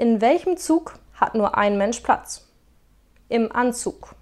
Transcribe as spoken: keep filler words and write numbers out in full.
In welchem Zug hat nur ein Mensch Platz? Im Anzug.